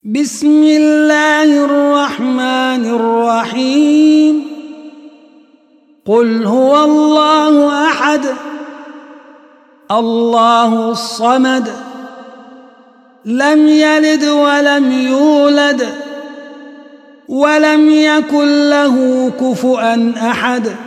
بسم الله الرحمن الرحيم. قل هو الله أحد الله الصمد لم يلد ولم يولد ولم يكن له كفؤا أحد.